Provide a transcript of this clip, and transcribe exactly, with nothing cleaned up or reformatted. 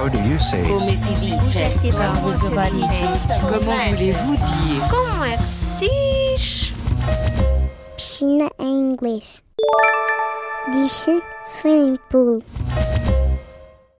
How do you say Come it? si dice? Comment voulez-vous dire? Como é que se diz? Piscina em inglês. Diz-se swimming pool.